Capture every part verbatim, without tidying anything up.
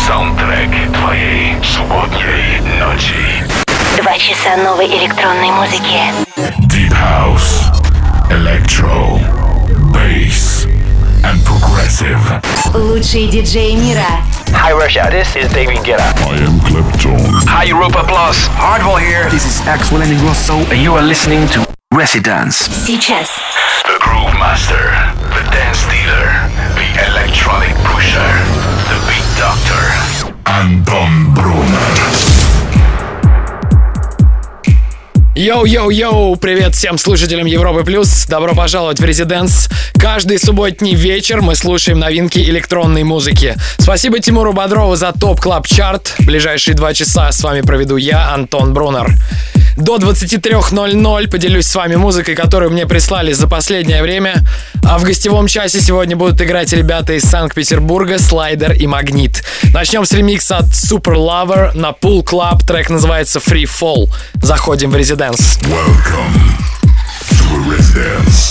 Саундтрек твоей субботней ночи. Два часа новой электронной музыки. Deep House, Electro, Bass and Progressive. Лучшие диджеи мира. Hi Russia, this is David Guetta. I am Clapton. Hi Europa Plus. Hardwell here. This is Axel Ingrosso, and you are listening to Residence. Сейчас. The Groove Master, the Dance Dealer, the Electronic Pusher, the Beat Doctor, Anton Brunner. Йоу-йоу-йоу! Привет всем слушателям Европы Плюс! Добро пожаловать в Резиденс! Каждый субботний вечер мы слушаем новинки электронной музыки. Спасибо Тимуру Бодрову за ТОП Клаб Чарт. Ближайшие два часа с вами проведу я, Антон Брунер. До двадцать три ноль ноль поделюсь с вами музыкой, которую мне прислали за последнее время. А в гостевом часе сегодня будут играть ребята из Санкт-Петербурга, Слайдер и Магнит. Начнем с ремикса от Super Lover на Pool Club. Трек называется Free Fall. Заходим в Резиденс. Welcome to Residence.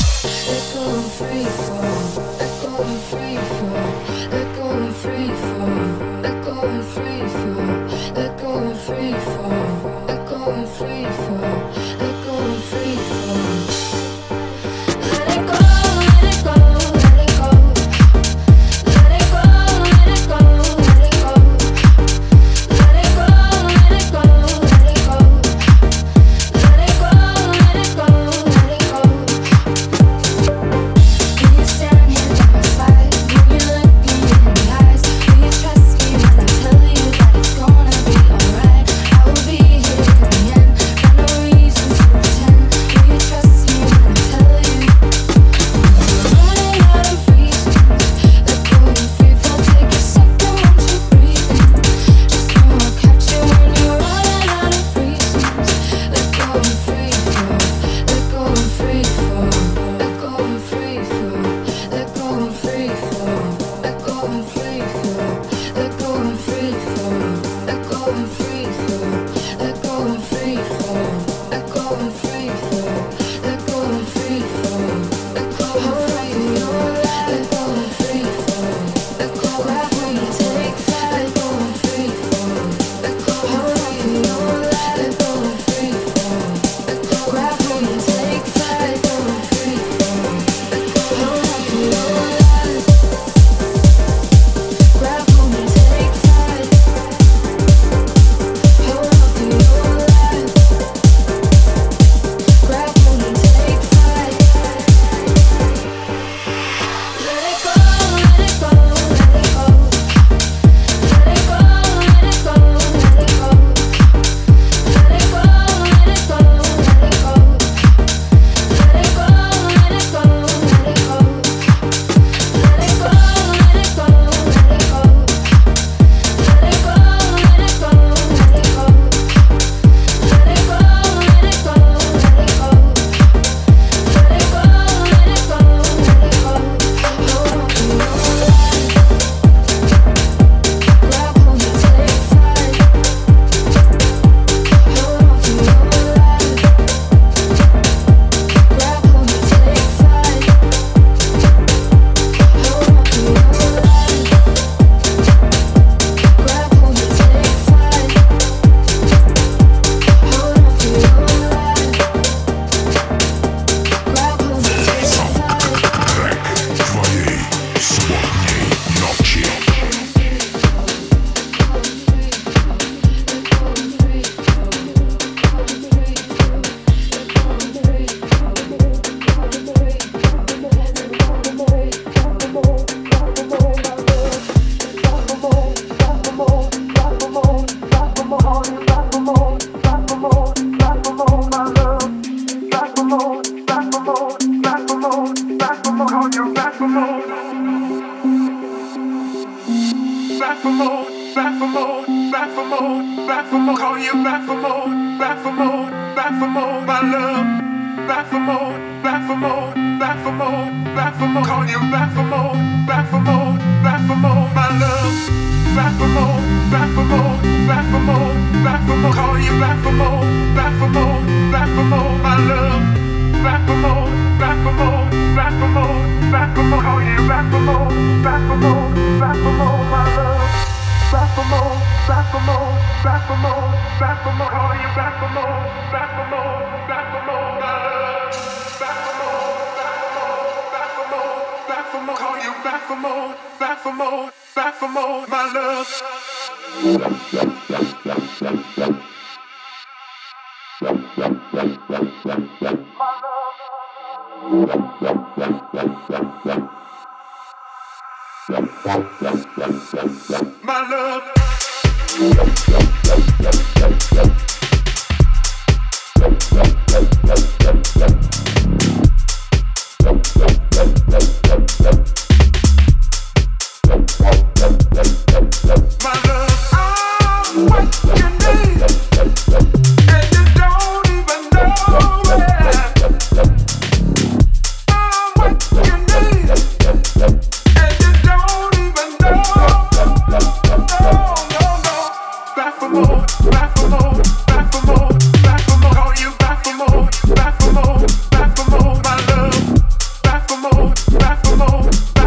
Back for more, back for more, back for more, my love. Back for more, back for more, back for more.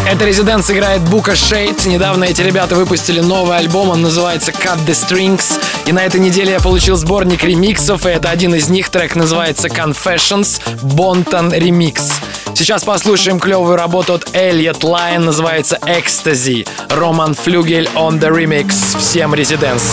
Это Residence играет Бука Шейд. Недавно эти ребята выпустили новый альбом, он называется Cut the Strings. И на этой неделе я получил сборник ремиксов, и это один из них, трек называется Confessions, Bonton Remix. Сейчас послушаем клевую работу от Elliot Lion, называется Ecstasy. Роман Флюгель on the remix. Всем Residence.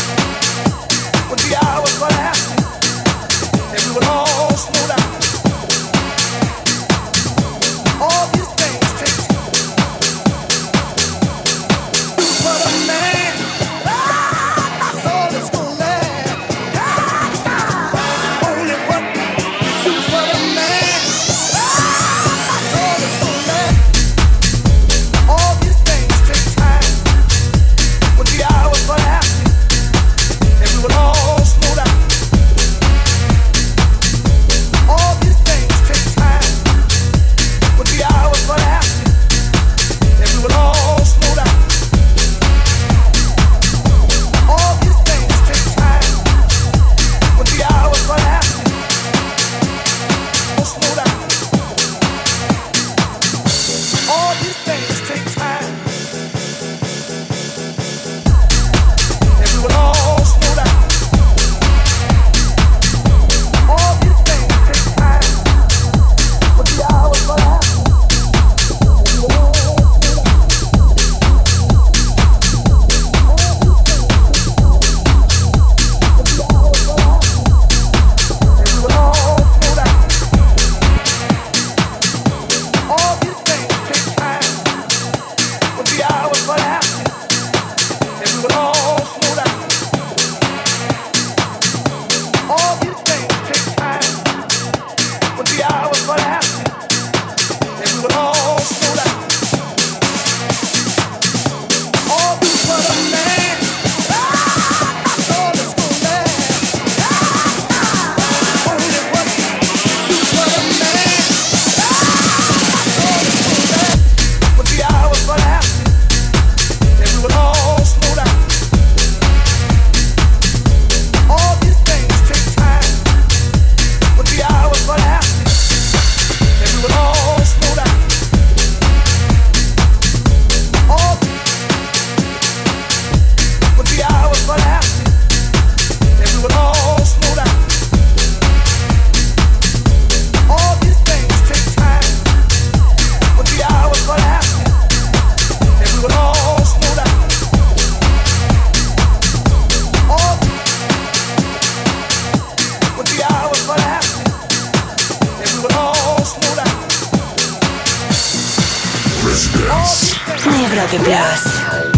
Европе плюс.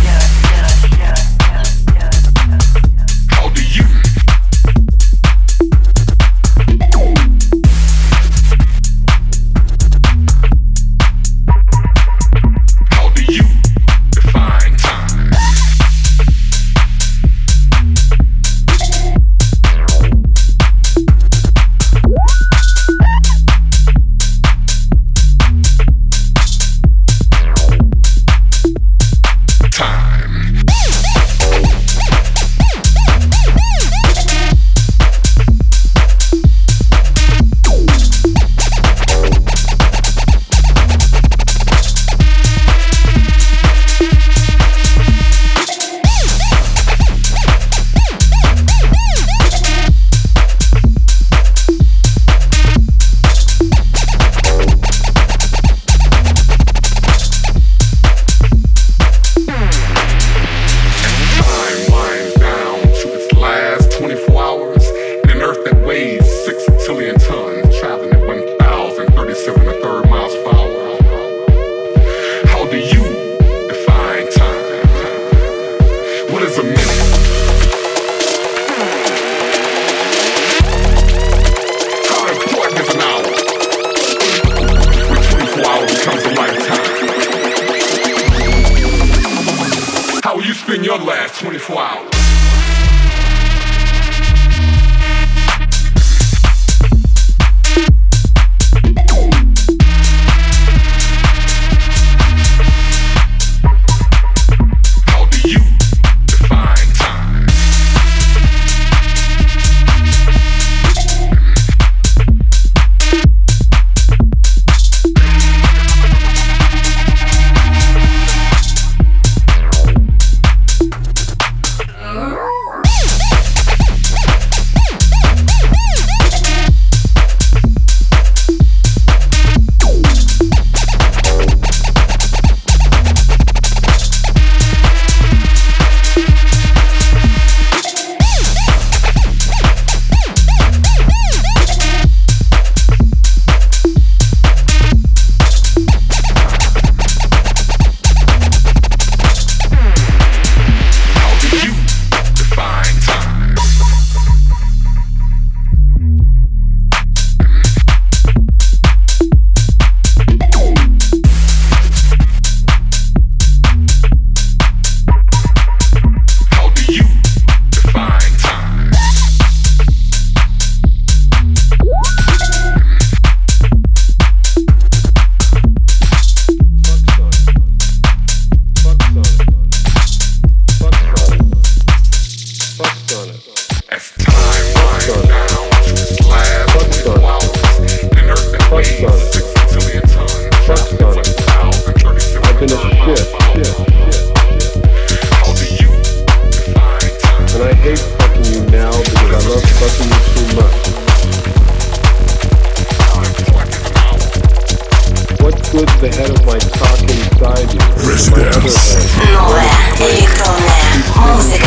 Новая электронная музыка.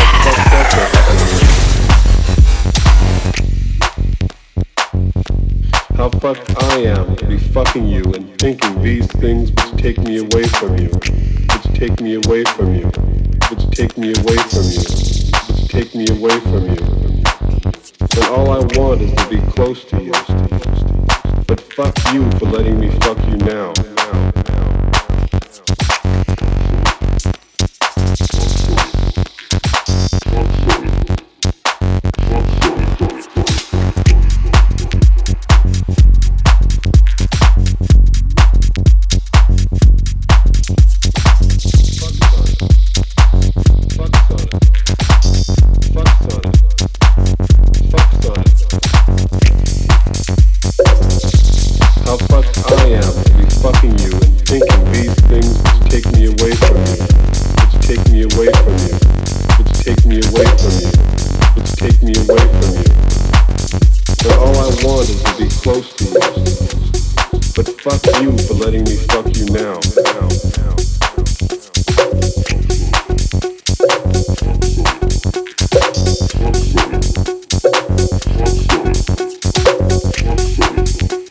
How fucked I am to be fucking you and thinking these things which take me away from you, which take me away from you, which take me away from you, which take me away from you. And all I want is to be close to you. But fuck you for letting me fuck you now.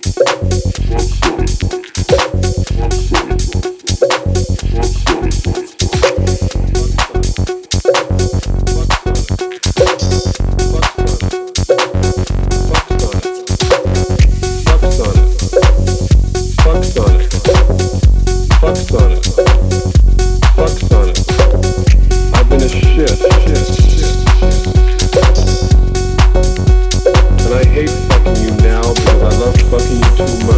Fuck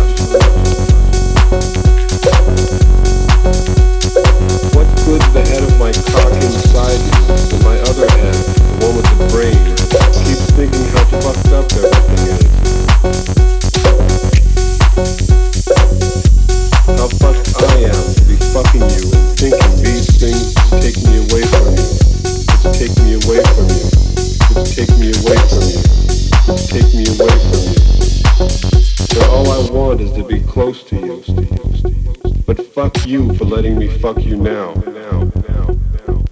What good's the head of my cock inside you, and my other head, the one with the brain, keeps thinking how fucked up everything is. How fucked I am to be fucking you and thinking these things take me away from you. It's take me away from you. It's take me away from you. It's take me away from you. So all I want is to be close to you. But fuck you for letting me fuck you now. Now, now, now, now.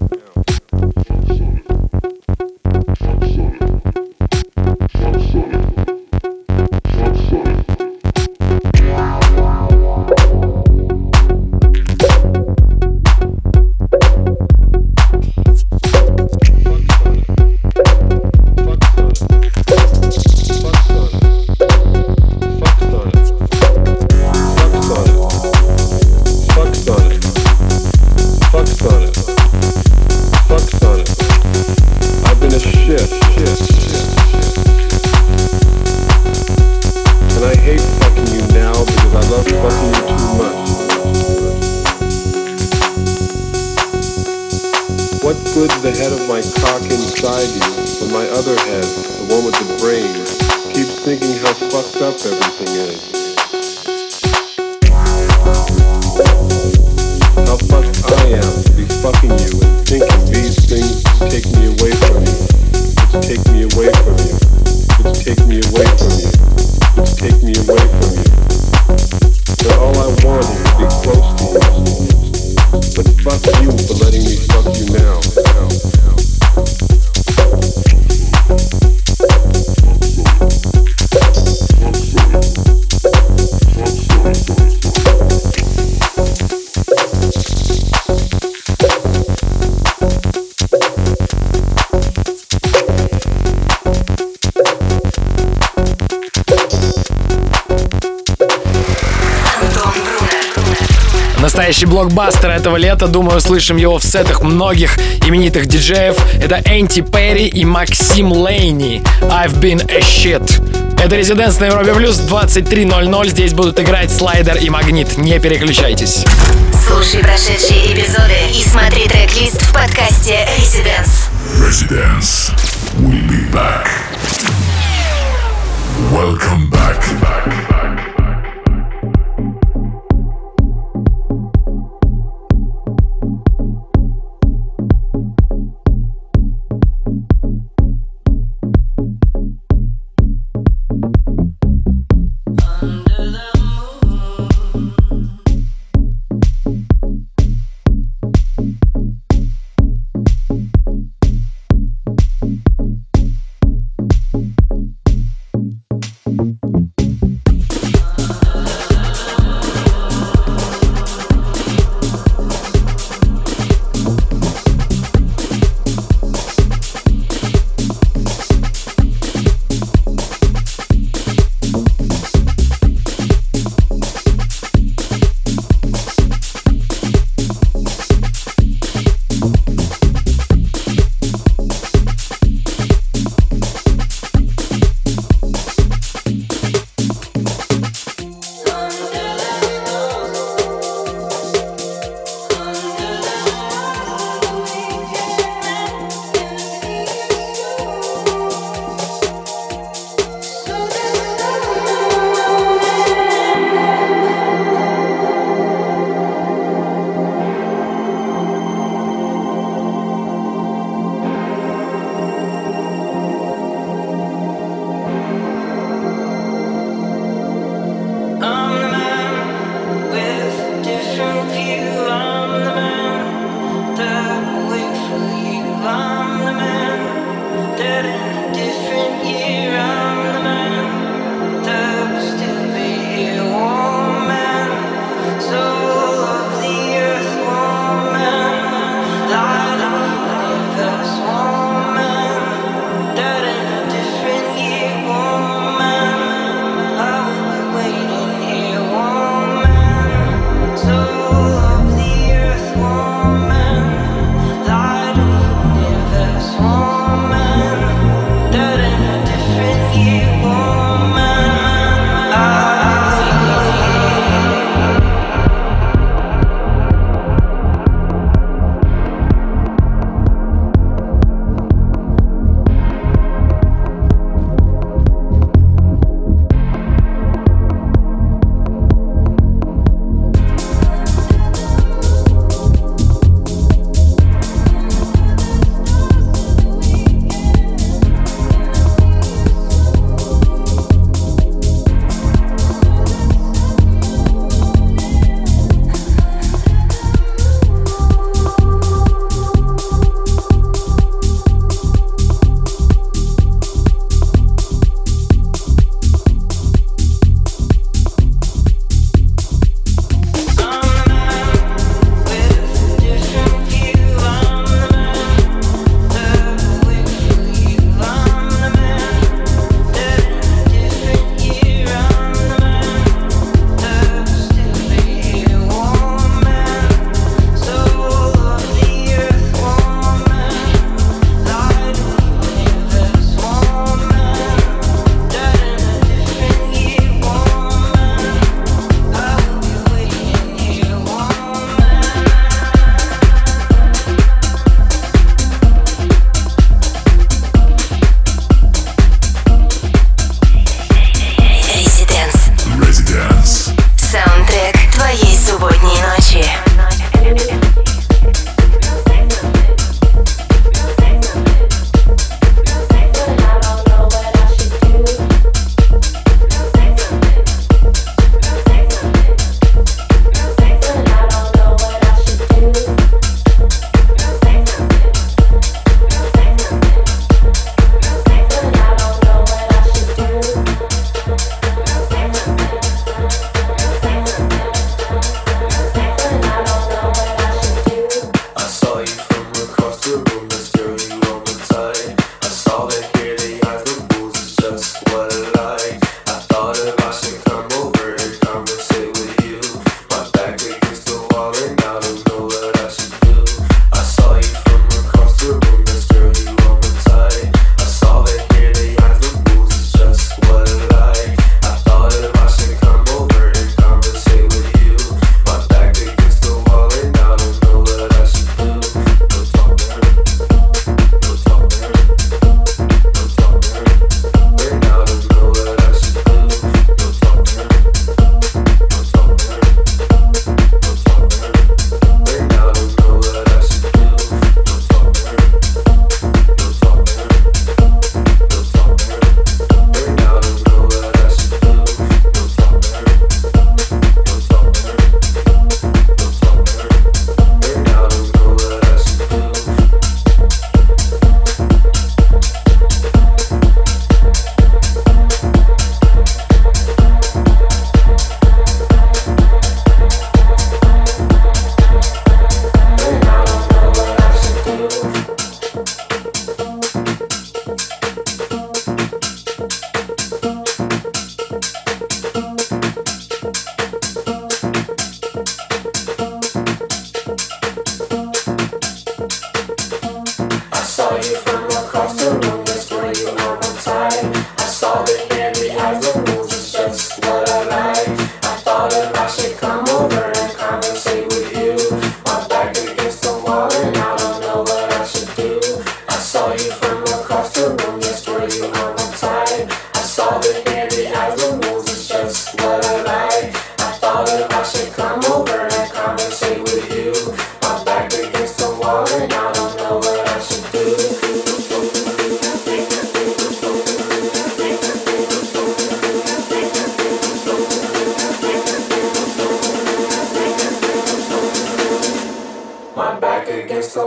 The head of my cock inside you, but my other head, the one with the brain, keeps thinking how fucked up everything is. How fucked I am to be fucking you and thinking these things take me away from you. It's take me away from you. It's take me away from you. It's take me away from you. But all I want is to be close to you. But fuck you for letting me fuck you now. now, now. Настоящий блокбастер этого лета, думаю, услышим его в сетах многих именитых диджеев. Это Энти Перри и Максим Лейни. I've been a shit. Это Резиденс на Европе Плюс, двадцать три ноль ноль. Здесь будут играть Слайдер и Магнит. Не переключайтесь. Слушай прошедшие эпизоды и смотри трек-лист в подкасте Residence. Residence. We'll be back. Welcome back. back, back.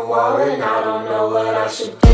wall and I don't know what I should do.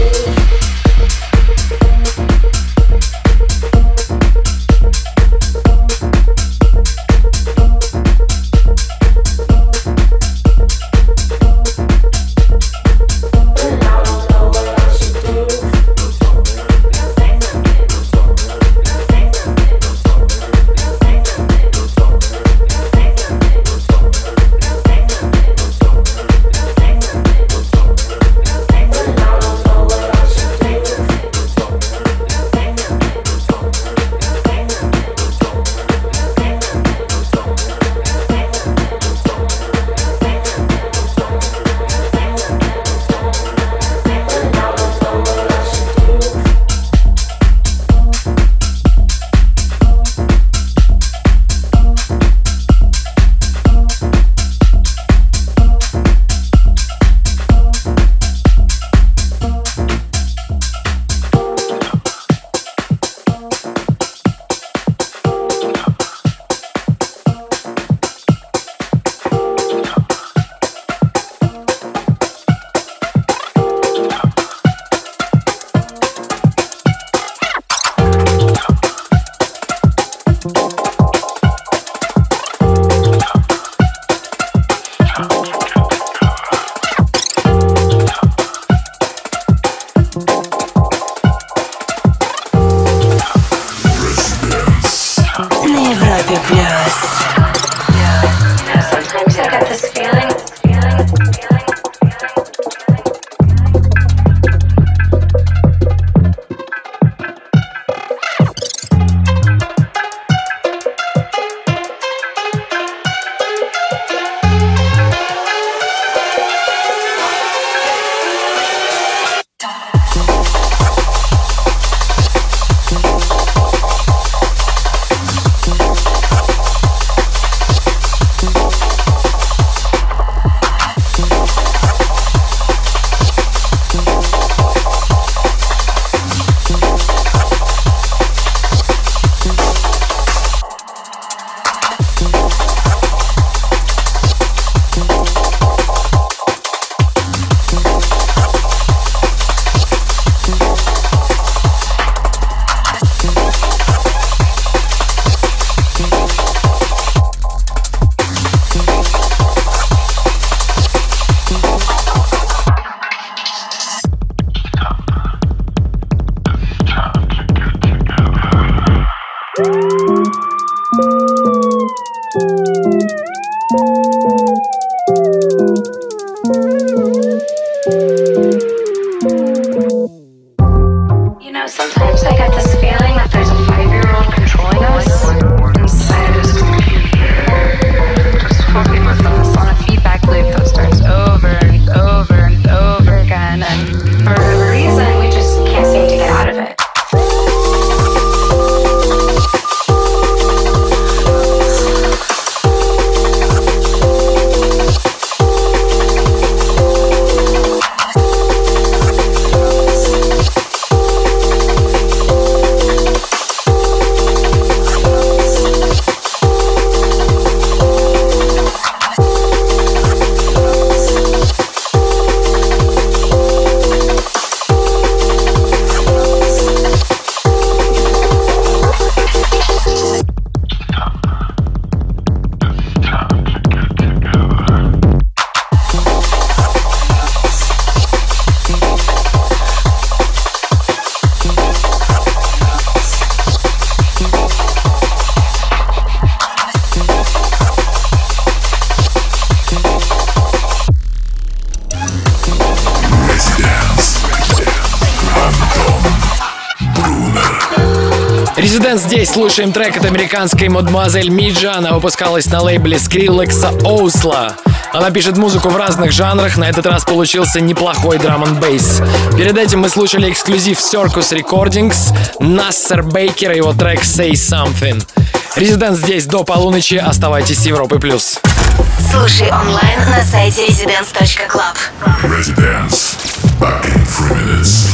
Residence здесь. Слушаем трек от американской мадемуазель Миджа. Она выпускалась на лейбле Skrillex Оусла. Она пишет музыку в разных жанрах. На этот раз получился неплохой драм-н-бейс. Перед этим мы слушали эксклюзив Circus Recordings, Нассер Бейкер и его трек Say Something. Residence здесь до полуночи. Оставайтесь с Европой плюс. Слушай онлайн на сайте residence точка club. Residence. Back in three minutes.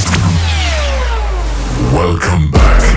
Welcome back.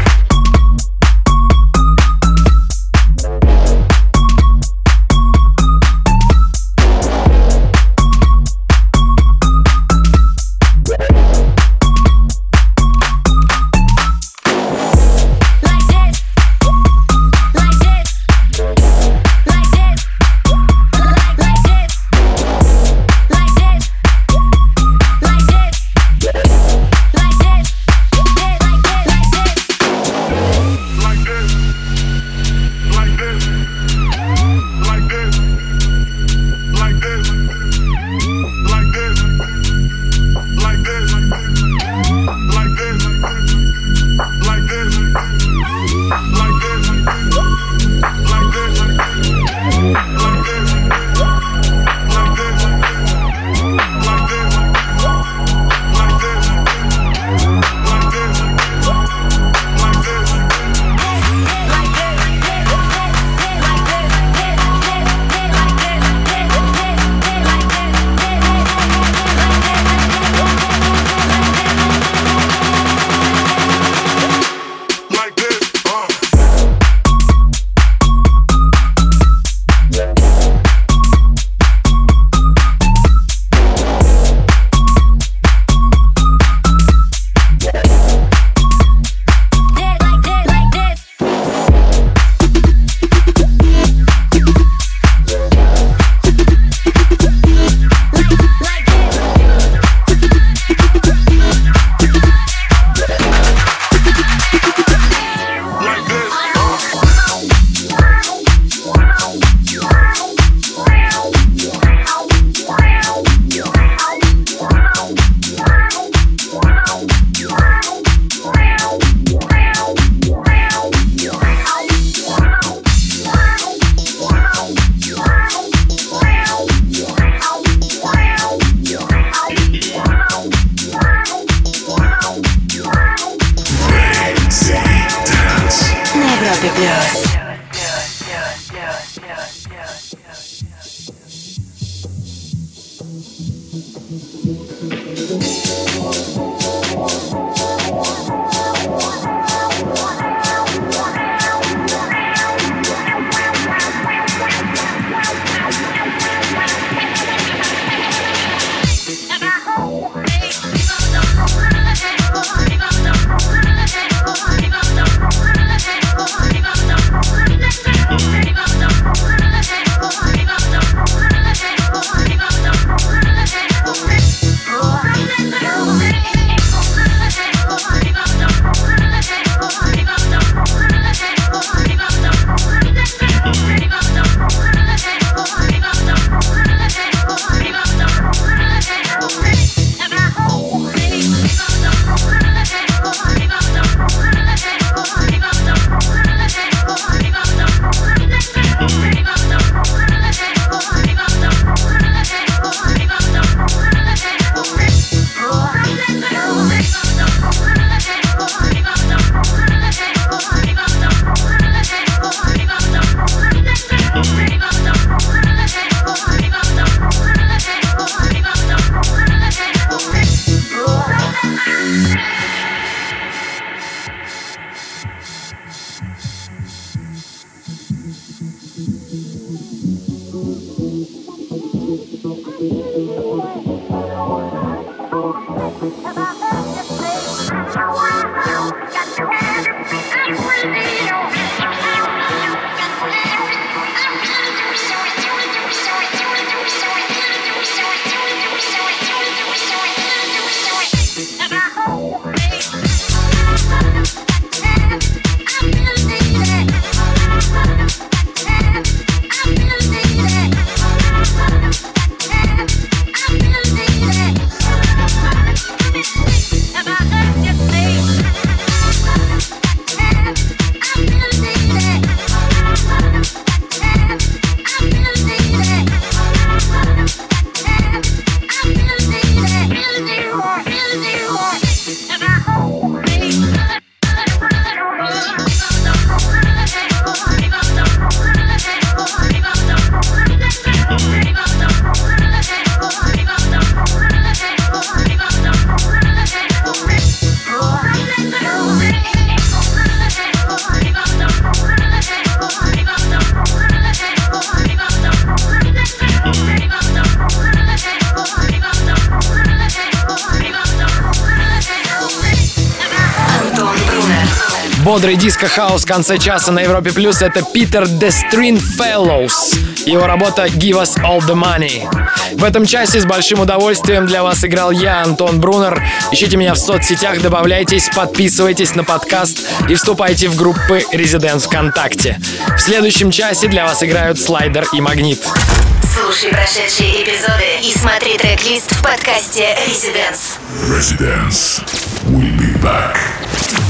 Бодрый диско-хаус в конце часа на Европе Плюс — это Питер The Stringfellows. Его работа «Give Us All The Money». В этом часе с большим удовольствием для вас играл я, Антон Брунер. Ищите меня в соцсетях, добавляйтесь, подписывайтесь на подкаст и вступайте в группы Residence ВКонтакте. В следующем часе для вас играют Слайдер и Магнит. Слушай прошедшие эпизоды и смотри трек-лист в подкасте Residence. Residence. We'll be back.